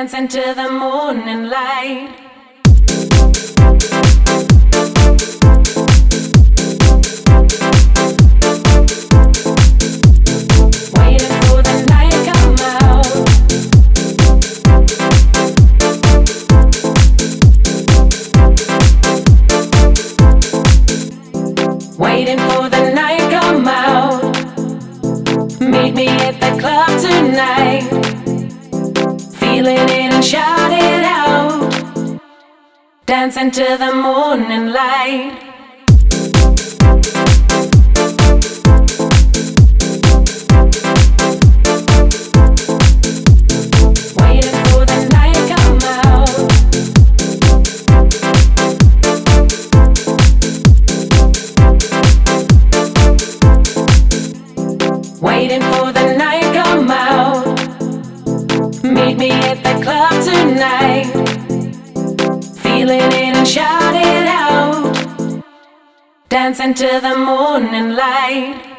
dancing to the morning light. Waiting for the night to come out. Waiting for the night to come out. Meet me at the club tonight. Feeling it and shout it out. Dancing to the morning light. Waiting for the night to come out. Waiting for the night to come out. Meet me at the club tonight. Feeling it and shout it out. Dancing to the morning light.